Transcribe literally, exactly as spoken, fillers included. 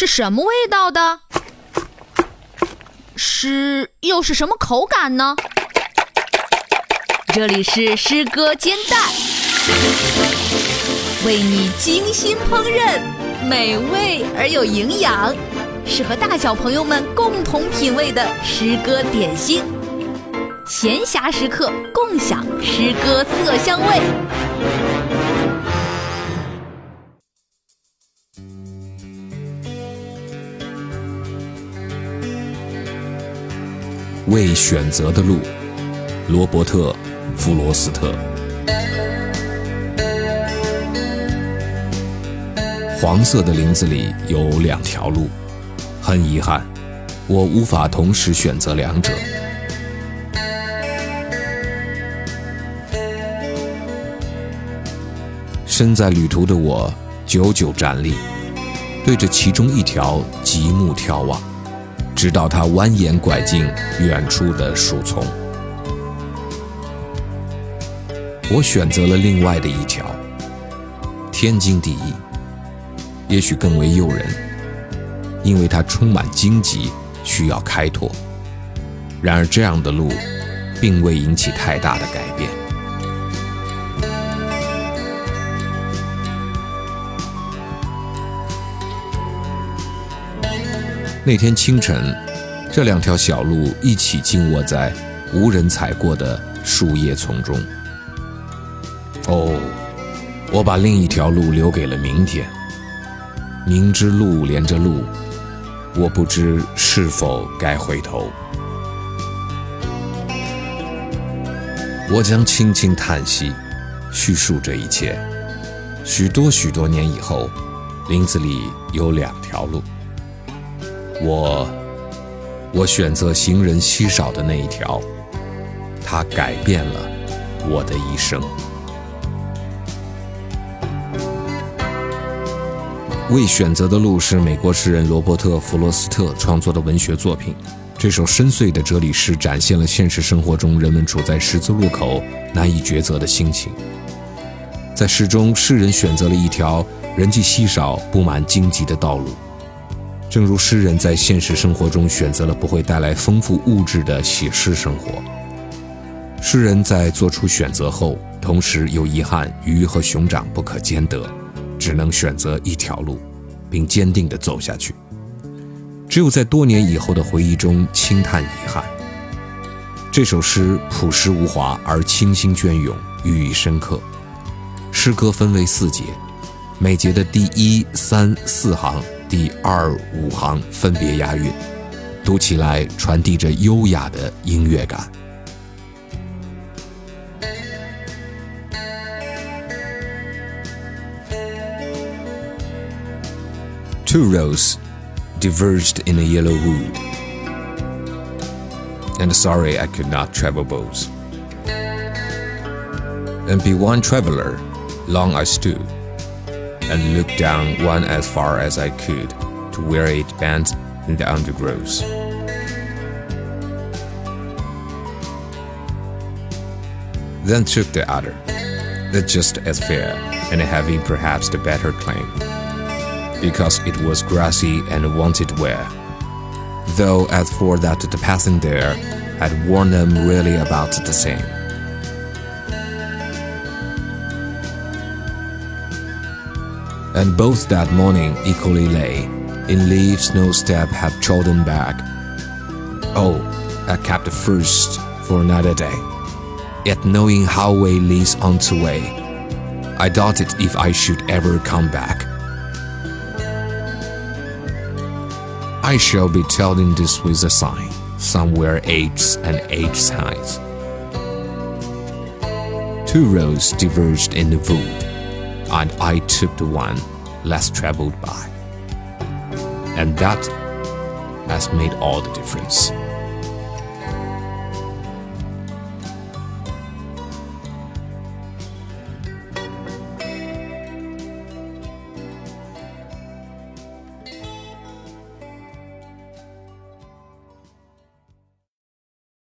是什么味道的？诗又是什么口感呢？这里是诗歌煎蛋，为你精心烹饪，美味而有营养，适合大小朋友们共同品味的诗歌点心。闲暇时刻，共享诗歌色香味。 未选择的路，罗伯特·弗罗斯特。黄色的林子里有两条路，很遗憾，我无法同时选择两者。身在旅途的我久久站立，对着其中一条极目眺望，直到它蜿蜒拐进远处的树丛。我选择了另外的一条，天经地义，也许更为诱人，因为它充满荆棘，需要开拓。然而这样的路并未引起太大的改变。那天清晨，这两条小路一起静卧在无人踩过的树叶丛中。哦，我把另一条路留给了明天。明知路连着路，我不知是否该回头。我将轻轻叹息，叙述这一切。许多许多年以后，林子里有两条路。我，我选择行人稀少的那一条，它改变了我的一生。未选择的路是美国诗人罗伯特·弗罗斯特创作的文学作品。这首深邃的哲理诗展现了现实生活中人们处在十字路口难以抉择的心情。在诗中，诗人选择了一条人迹稀少、布满荆棘的道路。正如诗人在现实生活中选择了不会带来丰富物质的写诗生活，诗人在做出选择后，同时有遗憾鱼和熊掌不可兼得，只能选择一条路，并坚定地走下去。只有在多年以后的回忆中轻叹遗憾。这首诗朴实无华而清新隽永，寓意深刻。诗歌分为四节，每节的第一、三、四行第二、五行分别押韵，读起来传递着优雅的音乐感。Two roads diverged in a yellow wood, and sorry I could not travel both. And be one traveler, long I stood,and looked down one as far as I could to where it bent in the undergrowth. Then took the other, that just as fair, and having perhaps the better claim, because it was grassy and wanted wear, though as for that the passing there had worn them really about the same.And both that morning equally lay, in leaves no step had trodden back. Oh, I kept the first for another day, yet knowing how way leads on to way, I doubted if I should ever come back. I shall be telling this with a sign, somewhere ages and ages hides. Two roads diverged in the wood,and I took the one less traveled by. And that has made all the difference.